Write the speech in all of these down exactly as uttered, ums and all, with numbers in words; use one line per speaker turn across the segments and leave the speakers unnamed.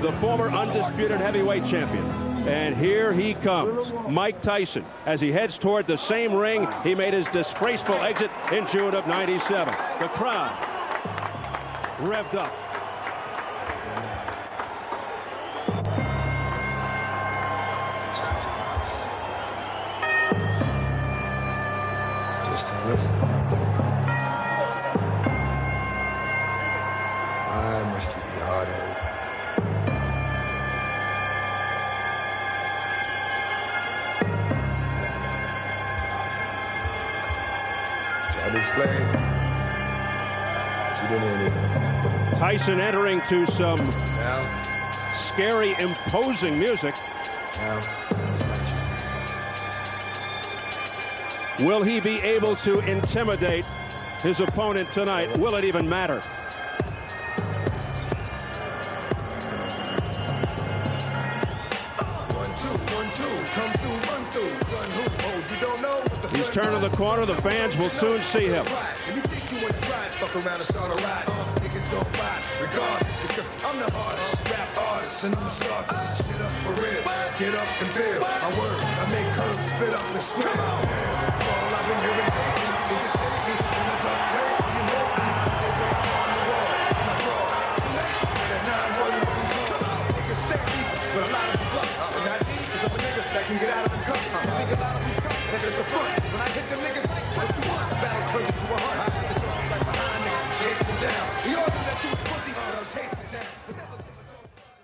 the former undisputed heavyweight champion. And here he comes, Mike Tyson. As he heads toward the same ring, he made his disgraceful exit in June of ninety-seven. The crowd revved up.
Just listen. I must be hard-headed. Explain. She didn't hear me.
Tyson entering to some
Now.
scary, imposing music.
Now.
Will he be able to intimidate his opponent tonight? Will it even matter?
One, two, one, two. Come through, run through. Run who? Oh, you don't know?
He's turning the corner. The fans will soon see him.
If you think you want to ride, fuck around and start a ride. Uh, niggas don't ride, regardless. Because I'm the hardest rap artist, and I'm a star. Shit up for real. Get up and feel. I work, I make curves, spit up and scream. All I've been hearing, niggas stay me. When I talk tape, you know me. They break on the wall. My bra, late. That nine one one call. Niggas stay me. But a lot of them bluff. And I need to go niggas that can get out of the cuffs. I think a lot of these cuffs, that is the front. When I hit them niggas, what you want? The battle turns into a hunt. The dogs like behind niggas, chase them down. We all do that to a pussy, but I'll chase it down. But never give a dog.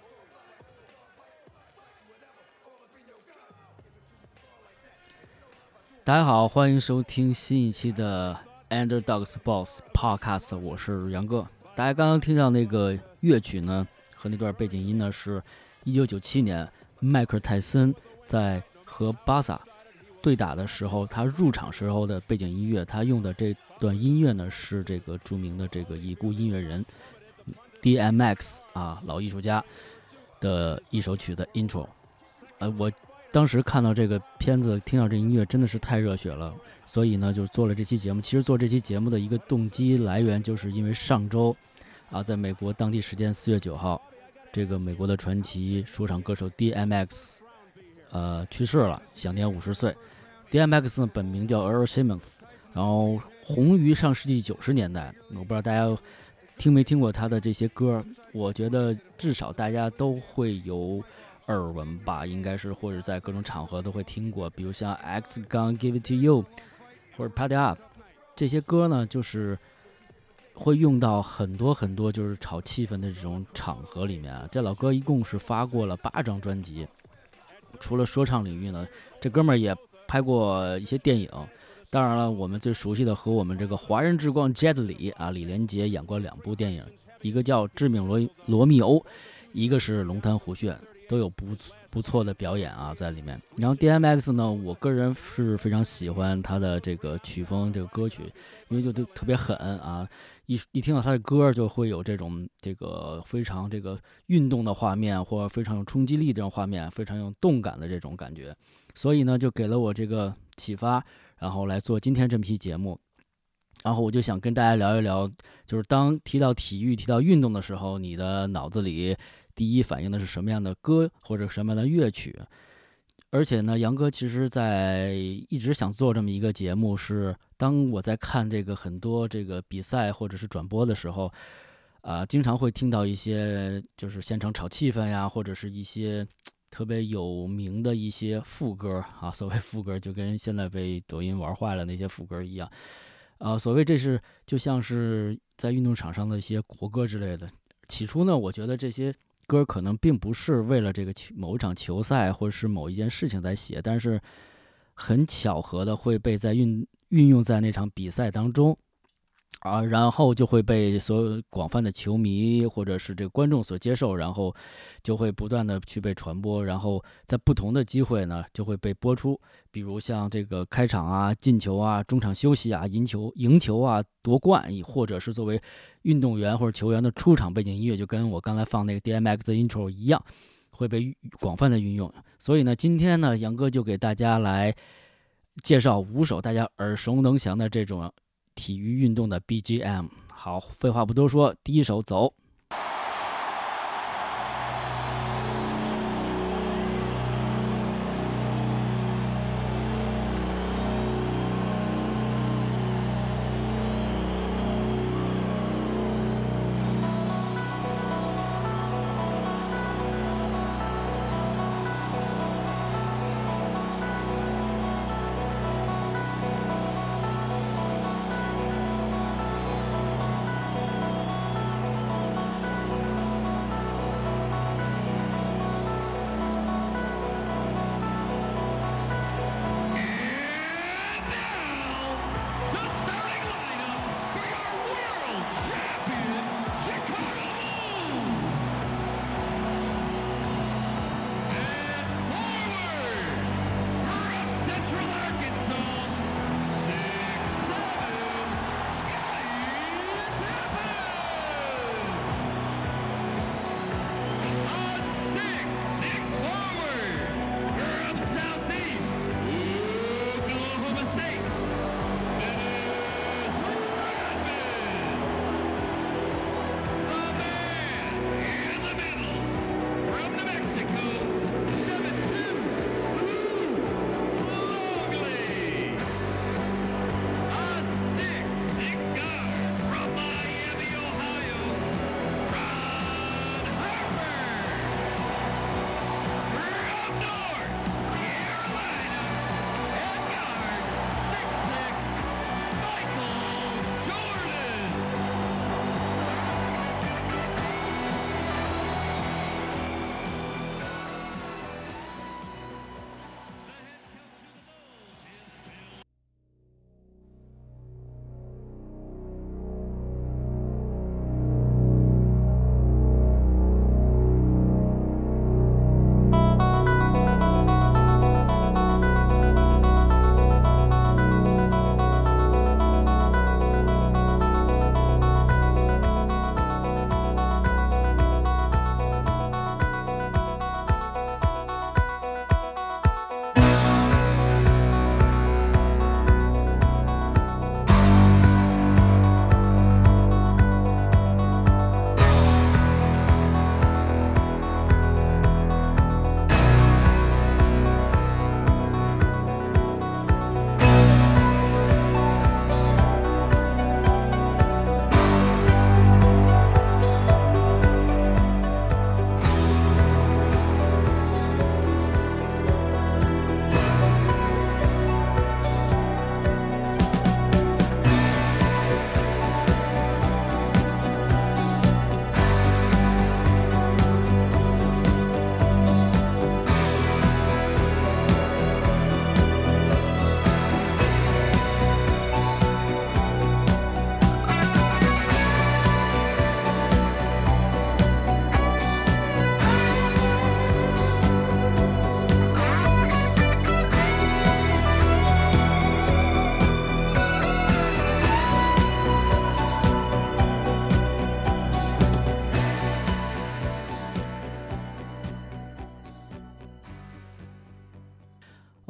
大家好，欢迎收听新一期的 Underdog Sports Podcast， 我是杨哥。大家刚刚听到那个乐曲呢，和那段背景音呢，是一九九七年迈克尔泰森在和巴萨对打的时候，他入场时候的背景音乐。他用的这段音乐呢，是这个著名的这个已故音乐人 D M X 啊，老艺术家的一首曲的 intro。呃，我当时看到这个片子，听到这音乐真的是太热血了，所以呢就做了这期节目。其实做这期节目的一个动机来源，就是因为上周啊，在美国当地时间四月九号，这个美国的传奇说唱歌手 D M X 呃去世了，享年五十岁。D M X 呢本名叫 Earl Simmons， 然后红于上世纪九十年代。我不知道大家听没听过他的这些歌，我觉得至少大家都会有耳闻吧，应该是，或者在各种场合都会听过，比如像 X Gon Give It To You 或者 Party Up 这些歌呢，就是会用到很多很多就是炒气氛的这种场合里面啊。这老哥一共是发过了八张专辑，除了说唱领域呢，这哥们儿也拍过一些电影。当然了，我们最熟悉的和我们这个华人之光 Jet Li 啊，李连杰演过两部电影，一个叫《致命罗罗密欧》，一个是《龙潭虎穴》。都有不不错的表演啊在里面。然后 D M X 呢，我个人是非常喜欢他的这个曲风，这个歌曲，因为就特别狠啊，一一听到他的歌就会有这种这个非常这个运动的画面，或者非常有冲击力这种画面，非常有动感的这种感觉，所以呢就给了我这个启发，然后来做今天这期节目。然后我就想跟大家聊一聊，就是当提到体育、提到运动的时候，你的脑子里第一反应的是什么样的歌或者什么样的乐曲？而且呢，杨哥其实在一直想做这么一个节目，是当我在看这个很多这个比赛或者是转播的时候，啊、呃，经常会听到一些就是现场炒气氛呀，或者是一些特别有名的一些副歌啊，所谓副歌就跟现在被抖音玩坏了那些副歌一样。啊、呃，所谓这是就像是在运动场上的一些国歌之类的。起初呢，我觉得这些歌可能并不是为了这个某一场球赛或者是某一件事情在写，但是很巧合的会被在运运用在那场比赛当中。啊，然后就会被所有广泛的球迷或者是这个观众所接受，然后就会不断的去被传播，然后在不同的机会呢就会被播出，比如像这个开场啊、进球啊、中场休息啊、赢球、赢球啊、夺冠，或者是作为运动员或者球员的出场背景音乐，就跟我刚才放那个 D M X 的 intro 一样，会被广泛的运用。所以呢，今天呢，杨哥就给大家来介绍五首大家耳熟能详的这种体育运动的 B G M。 好，废话不多说，第一首走。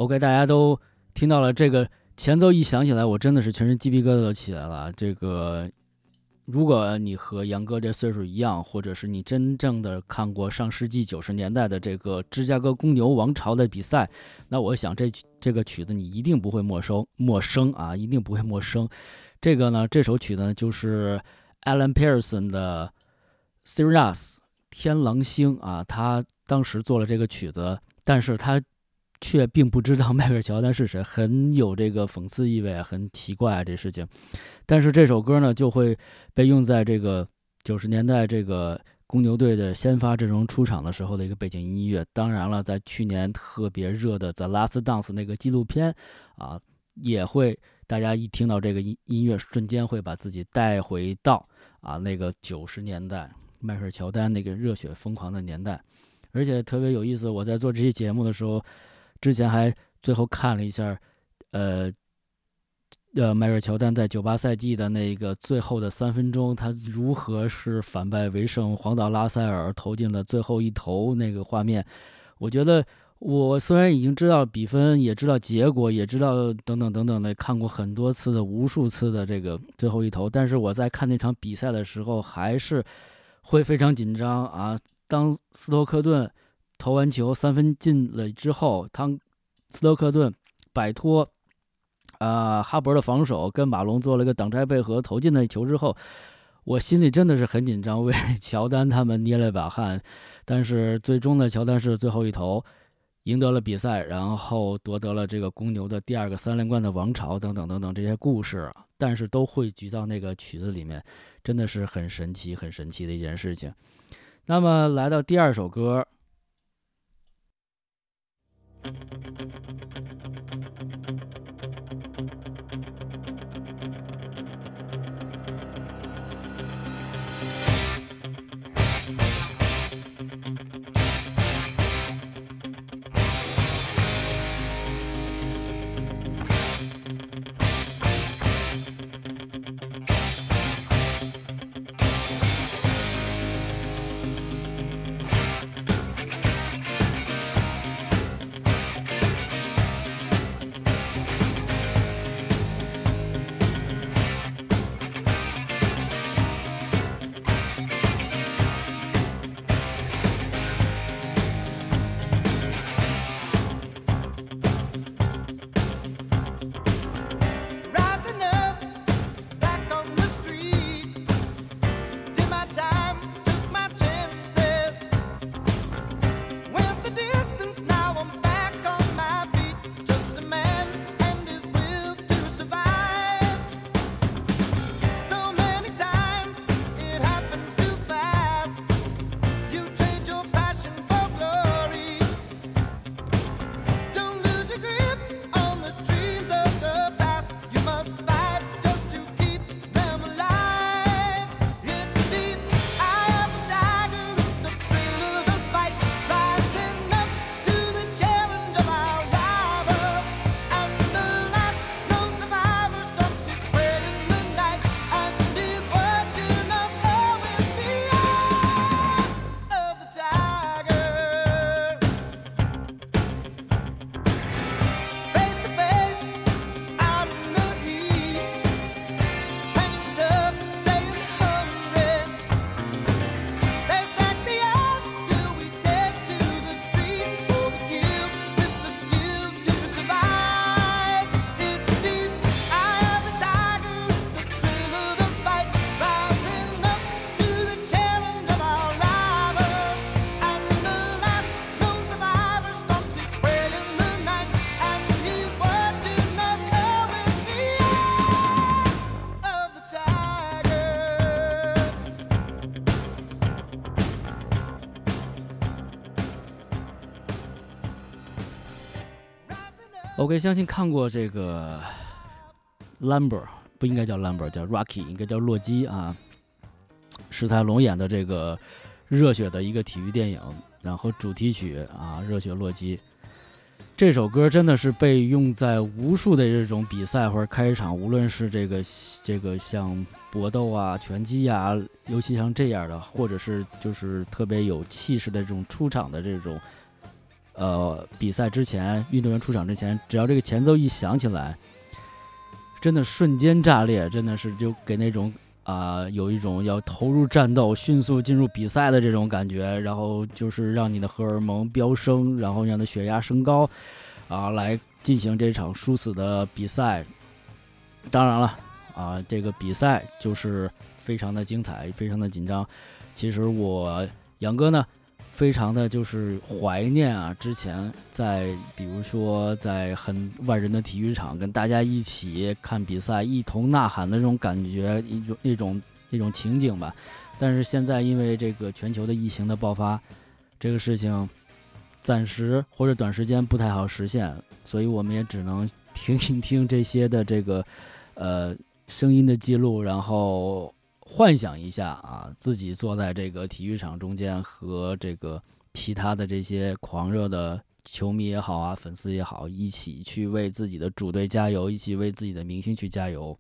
OK， 大家都听到了这个前奏一响起来，我真的是全身鸡皮疙瘩都起来了。这个，如果你和杨哥这岁数一样，或者是你真正的看过上世纪九十年代的这个芝加哥公牛王朝的比赛，那我想这这个曲子你一定不会陌生陌生啊，一定不会陌生。这个呢，这首曲子呢就是 Alan Pearson 的 Sirius 天狼星啊，他当时做了这个曲子，但是他却并不知道迈克尔乔丹是谁，很有这个讽刺意味，很奇怪啊这事情。但是这首歌呢，就会被用在这个九十年代这个公牛队的先发阵容出场的时候的一个背景音乐。当然了，在去年特别热的《The Last Dance》那个纪录片啊，也会大家一听到这个音乐，瞬间会把自己带回到啊那个九十年代迈克尔乔丹那个热血疯狂的年代。而且特别有意思，我在做这期节目的时候，之前还最后看了一下，呃，呃，迈克尔乔丹在九八赛季的那个最后的三分钟，他如何是反败为胜，黄岛拉塞尔投进了最后一投那个画面。我觉得我虽然已经知道比分，也知道结果，也知道等等等等的，看过很多次的无数次的这个最后一投，但是我在看那场比赛的时候，还是会非常紧张啊。当斯托克顿投完球三分进了之后，当斯托克顿摆脱啊、呃、哈伯的防守，跟马龙做了个挡拆配合投进那球之后，我心里真的是很紧张，为乔丹他们捏了把汗。但是最终呢，乔丹是最后一投赢得了比赛，然后夺得了这个公牛的第二个三连冠的王朝等等等等这些故事，但是都汇聚到那个曲子里面，真的是很神奇很神奇的一件事情。那么来到第二首歌，OK， 相信看过这个 Lumber， 不应该叫 Lumber， 叫 Rocky， 应该叫洛基啊。史泰龙演的这个热血的一个体育电影，然后主题曲啊，热血洛基。这首歌真的是被用在无数的这种比赛或者开场，无论是这个这个像搏斗啊、拳击啊，尤其像这样的，或者是就是特别有气势的这种出场的这种呃比赛之前，运动员出场之前，只要这个前奏一响起来，真的瞬间炸裂，真的是就给那种啊、呃、有一种要投入战斗、迅速进入比赛的这种感觉，然后就是让你的荷尔蒙飙升，然后让你的血压升高啊，来进行这场殊死的比赛。当然了啊，这个比赛就是非常的精彩，非常的紧张。其实我杨哥呢，非常的就是怀念啊，之前在比如说在很万人的体育场跟大家一起看比赛，一同呐喊的那种感觉，一种那种那种情景吧。但是现在因为这个全球的疫情的爆发，这个事情暂时或者短时间不太好实现，所以我们也只能听一听这些的这个呃声音的记录，然后幻想一下啊，自己坐在这个体育场中间，和这个其他的这些狂热的球迷也好啊，粉丝也好，一起去为自己的主队加油，一起为自己的明星去加油。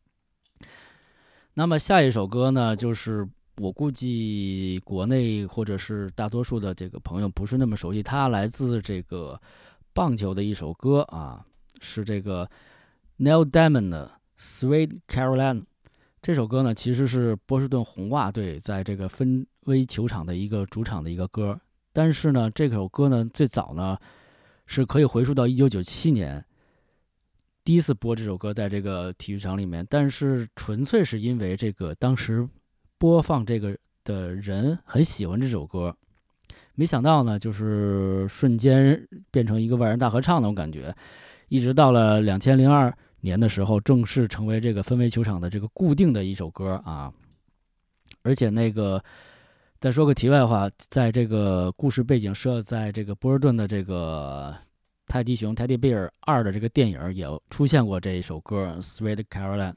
那么下一首歌呢，就是我估计国内或者是大多数的这个朋友不是那么熟悉，它来自这个棒球的一首歌啊，是这个 Neil Diamond 的 Sweet Caroline。这首歌呢，其实是波士顿红袜队在这个芬威球场的一个主场的一个歌，但是呢，这首歌呢，最早呢是可以回溯到一九九七年，第一次播这首歌在这个体育场里面，但是纯粹是因为这个当时播放这个的人很喜欢这首歌，没想到呢，就是瞬间变成一个万人大合唱那种感觉，一直到了两千零二年的时候，正式成为这个芬威球场的这个固定的一首歌啊。而且那个再说个题外话，在这个故事背景设在这个波士顿的这个泰迪熊 Teddy Bear 二的这个电影也出现过这一首歌 Sweet Caroline。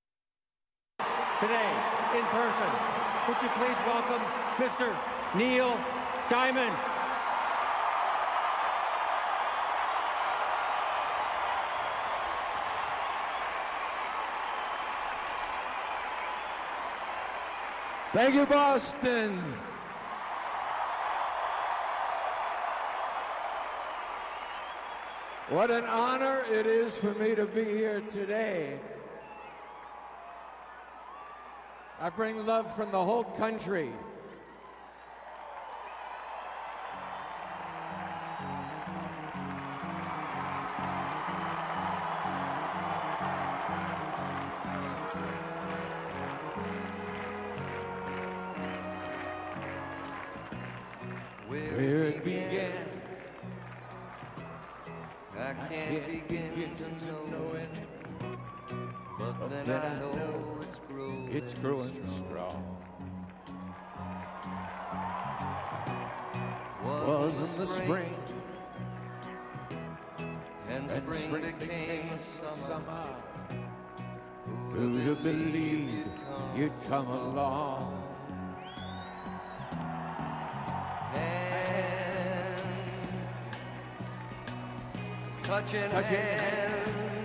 Today in person, would you please welcome Mister Neil Diamond.
Thank you, Boston. What an honor it is for me to be here today. I bring love from the whole country. Where it began, I can't begin to know it, but then I know it's growing, it's growing strong. Was in the spring, and spring became the summer. Who'd have believed you'd come along? Touching, touching hands,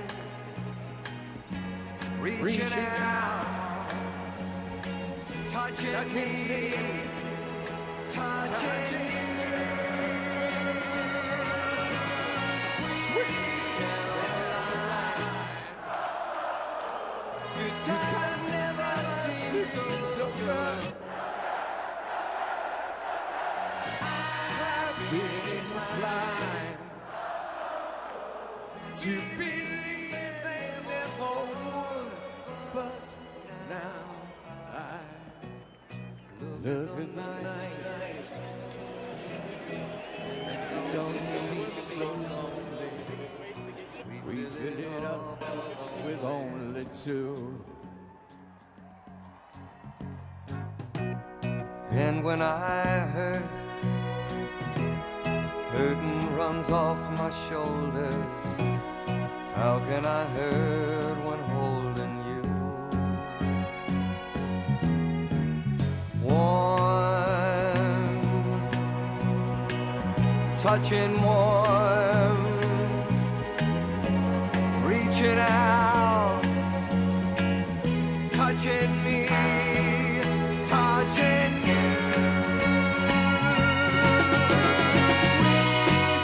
reaching, reaching out, touching, touching me, touching, touching you. Sweet Caroline, your touch never seemed so, so good. I've been blind to believe they never would, but now I look at the night and don't seem so lonely. We fill it up with only two. And when I hurt, hurting runs off my shoulders. How can I hurt when holding you? Warm, touching warm, reaching out, touching me, touching you. Sweet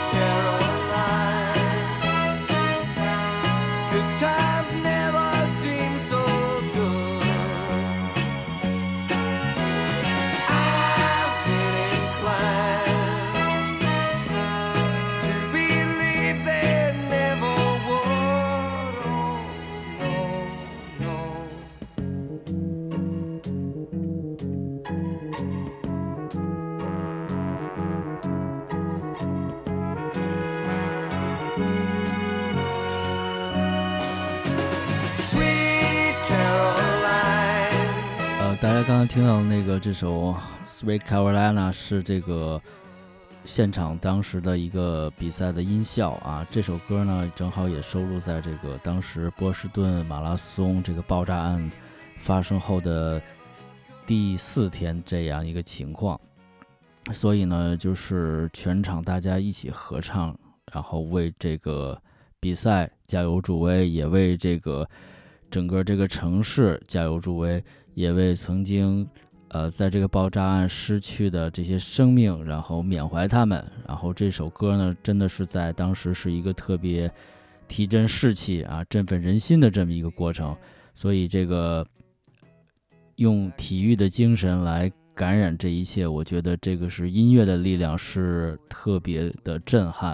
大家刚刚听到那个这首 Sweet Carolina 是这个现场当时的一个比赛的音效啊，这首歌呢正好也收录在这个当时波士顿马拉松这个爆炸案发生后的第四天这样一个情况，所以呢就是全场大家一起合唱，然后为这个比赛加油助威，也为这个整个这个城市加油助威，也为曾经呃在这个爆炸案失去的这些生命然后缅怀他们。然后这首歌呢真的是在当时是一个特别提振士气啊振奋人心的这么一个过程，所以这个用体育的精神来感染这一切，我觉得这个是音乐的力量，是特别的震撼。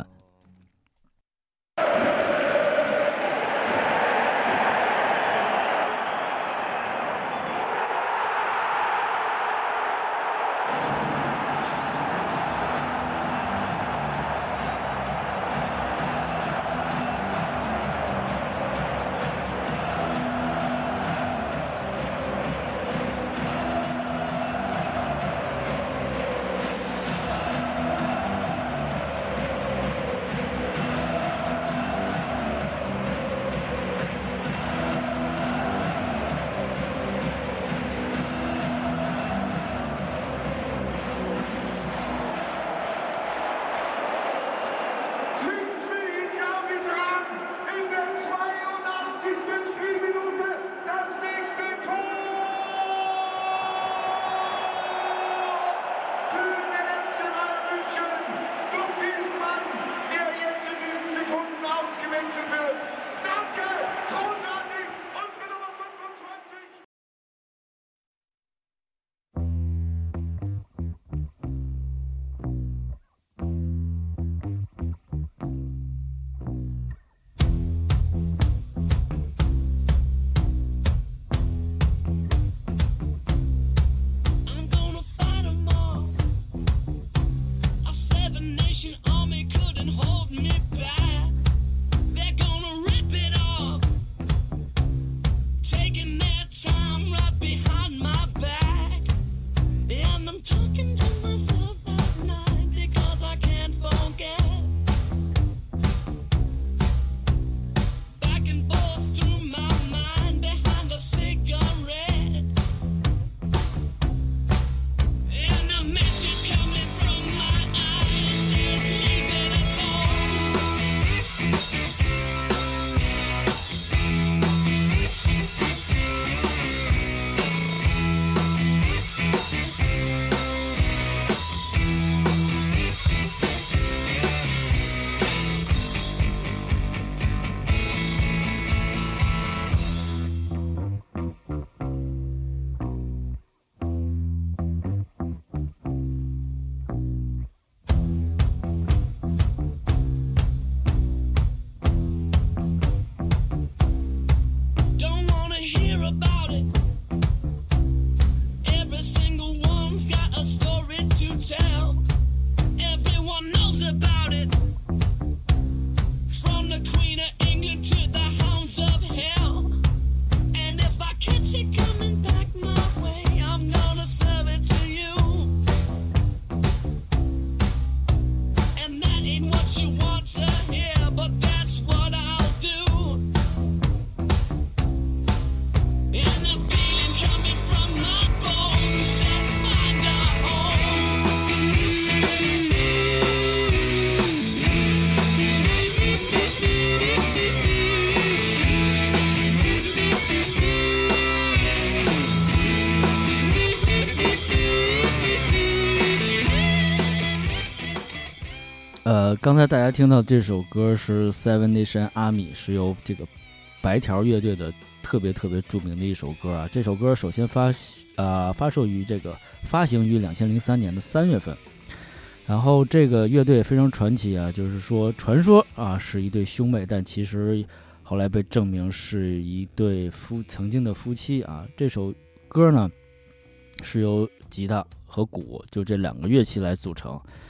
呃，刚才大家听到这首歌是 Seven Nation Army， 是由这个白条乐队的特别特别著名的一首歌啊。这首歌首先发呃发售于这个发行于两千零三年的三月份，然后这个乐队非常传奇啊，就是说传说啊是一对兄妹，但其实后来被证明是一对夫曾经的夫妻啊。这首歌呢是由吉他和鼓就这两个乐器来组成。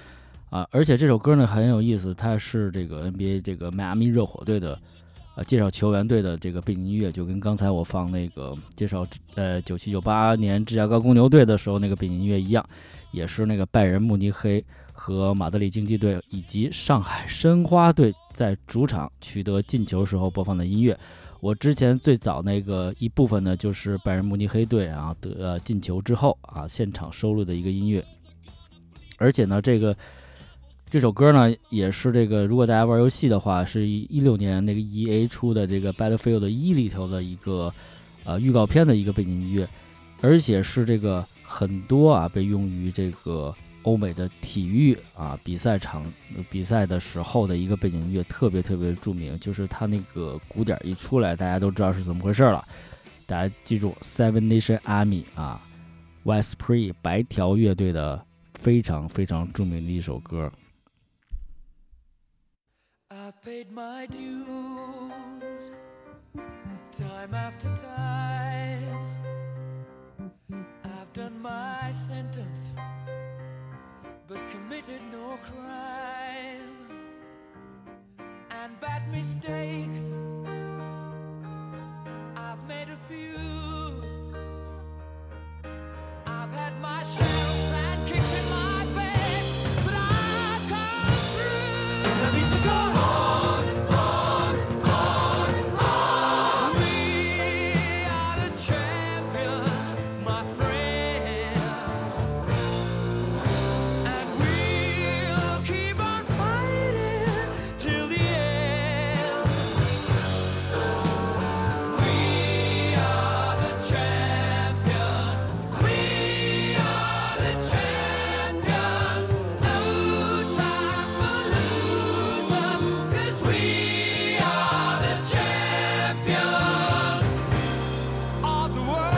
啊，而且这首歌呢很有意思，它是这个 N B A 这个迈阿密热火队的呃介绍球员队的这个背景音乐，就跟刚才我放那个介绍呃九七九八年芝加哥公牛队的时候那个背景音乐一样，也是那个拜仁慕尼黑和马德里竞技队以及上海申花队在主场取得进球时候播放的音乐。我之前最早那个一部分呢，就是拜仁慕尼黑队啊得呃进球之后啊现场收录的一个音乐，而且呢，这个这首歌呢也是这个，如果大家玩游戏的话，是一六年那个 E A 出的这个 Battlefield 一里头的一个呃预告片的一个背景音乐，而且是这个很多啊被用于这个欧美的体育啊比赛场比赛的时候的一个背景音乐，特别特别著名，就是它那个鼓点一出来，大家都知道是怎么回事了。大家记住 Seven Nation Army 啊 Westpre 白条乐队的非常非常著名的一首歌。
I've paid my dues time after time. I've done my sentence but committed no crime, and bad mistakes I've made a few. I've had my shells and kicked in my face, but I've come through. I need to go on, on, on, on. We are the champions, my friends, and we'll keep on fighting till the end. We are the champions, we are the champions. No time for losers, 'cause we are the champions of the world.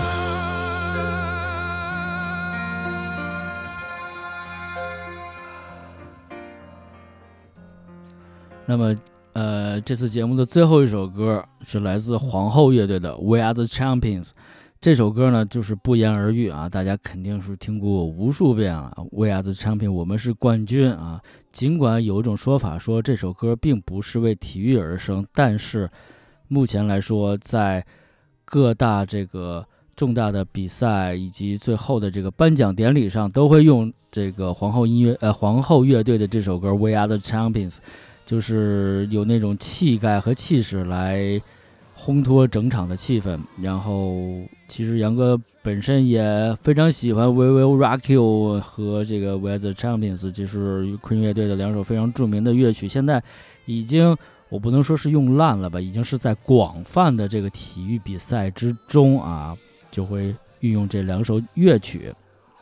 那么呃这次节目的最后一首歌是来自皇后乐队的 We Are the Champions。 这首歌呢就是不言而喻啊，大家肯定是听过无数遍了。 We Are the Champions， 我们是冠军啊。尽管有一种说法说这首歌并不是为体育而生，但是目前来说在各大这个重大的比赛以及最后的这个颁奖典礼上都会用这个皇后音乐呃皇后乐队的这首歌 We Are the Champions， 就是有那种气概和气势来烘托整场的气氛。然后其实杨哥本身也非常喜欢 We Will Rock You 和这个 We Are the Champions， 就是 Queen 乐队的两首非常著名的乐曲，现在已经我不能说是用烂了吧，已经是在广泛的这个体育比赛之中啊就会运用这两首乐曲。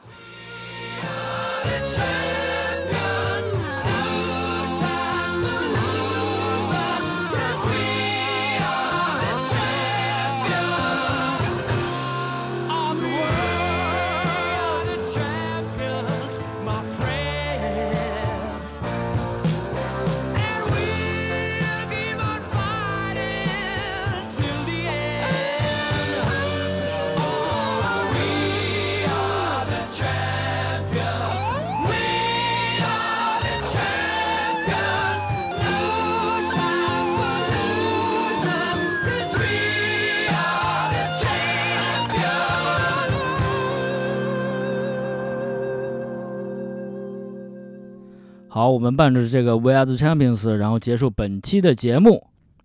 好，我们伴着这个 We Are the Champions 然后结束本期的节目。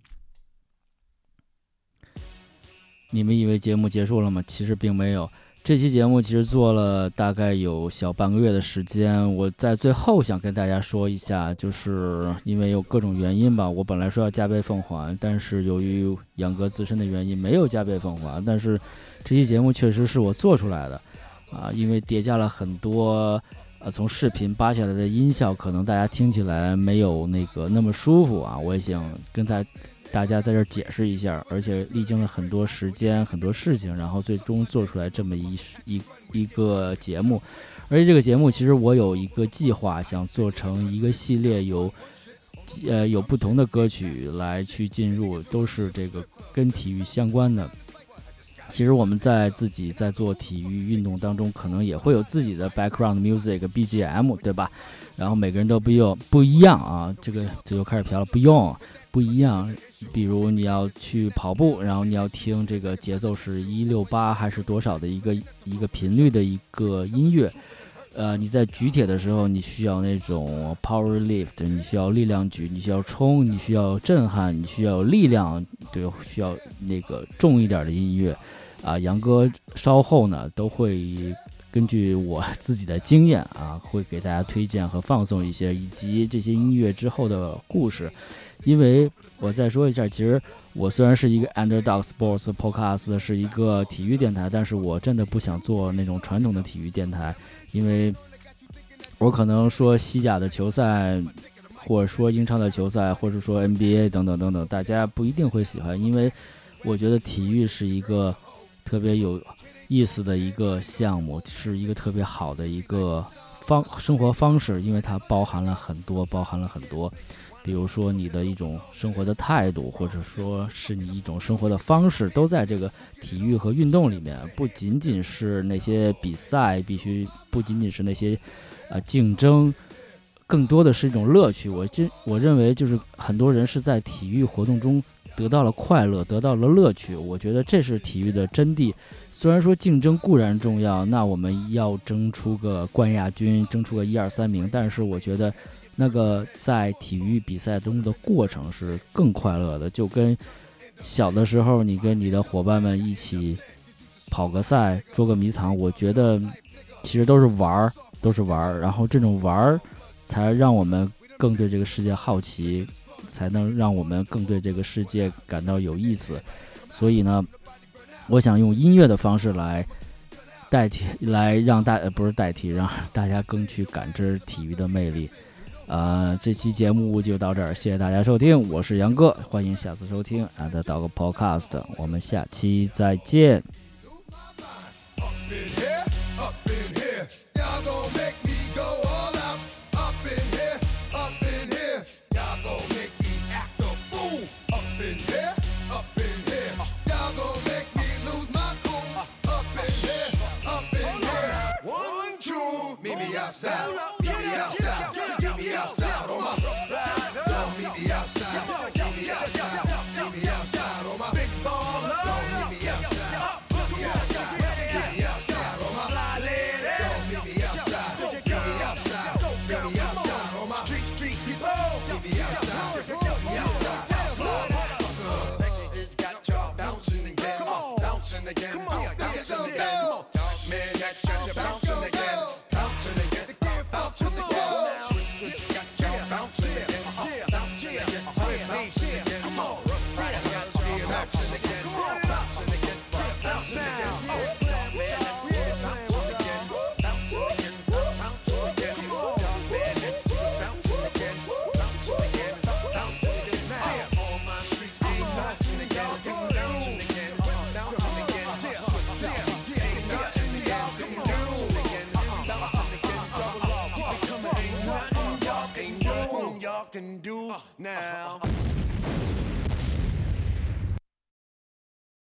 你们以为节目结束了吗？其实并没有。这期节目其实做了大概有小半个月的时间，我在最后想跟大家说一下，就是因为有各种原因吧，我本来说要加倍奉还，但是由于杨哥自身的原因没有加倍奉还，但是这期节目确实是我做出来的啊，因为叠加了很多呃，从视频扒下来的音效，可能大家听起来没有那个那么舒服啊。我也想跟大大家在这儿解释一下，而且历经了很多时间、很多事情，然后最终做出来这么一一一个节目。而且这个节目其实我有一个计划，想做成一个系列有，呃有不同的歌曲来去进入，都是这个跟体育相关的。 其实我们在自己在做体育运动当中，可能也会有自己的 background music B G M， 对吧？然后每个人都不用不一样啊，这个这就开始飘了，不用不一样。比如你要去跑步，然后你要听这个节奏是一六八还是多少的一个一个频率的一个音乐。呃，你在举铁的时候，你需要那种 power lift， 你需要力量举，你需要冲，你需要震撼，你需要力量，对，需要那个重一点的音乐。啊，杨哥稍后呢都会根据我自己的经验啊，会给大家推荐和放送一些，以及这些音乐之后的故事。因为我再说一下，其实我虽然是一个 Underdog Sports Podcast， 是一个体育电台，但是我真的不想做那种传统的体育电台，因为我可能说西甲的球赛，或者说英超的球赛，或者说 N B A 等等等等，大家不一定会喜欢，因为我觉得体育是一个特别有意思的一个项目，是一个特别好的一个方生活方式，因为它包含了很多，包含了很多，比如说你的一种生活的态度，或者说是你一种生活的方式，都在这个体育和运动里面。不仅仅是那些比赛，必须不仅仅是那些呃竞争，更多的是一种乐趣。我真我认为就是很多人是在体育活动中得到了快乐，得到了乐趣，我觉得这是体育的真谛。虽然说竞争固然重要，那我们要争出个冠亚军，争出个一二三名，但是我觉得那个在体育比赛中的过程是更快乐的。就跟小的时候你跟你的伙伴们一起跑个赛，捉个迷藏，我觉得其实都是玩都是玩然后这种玩才让我们更对这个世界好奇，才能让我们更对这个世界感到有意思。所以呢，我想用音乐的方式来代替，来让大呃不是代替，让大家更去感知体育的魅力。呃，这期节目就到这儿，谢谢大家收听，我是杨哥，欢迎下次收听 Underdog Podcast， 我们下期再见。
Outside, meet me outside, meet me outside on my don't meet me outside, meet me outside, meet me outside on my big baller. Don't meet me outside, meet me outside, meet me outside on my fly lady. Don't meet me outside, meet me outside, meet me outside on my street street people. Meet me outside, meet me outside, outside. It's got y'all bouncing again, bouncing again, bouncing again. Man, that's got you bouncing again. Can do now.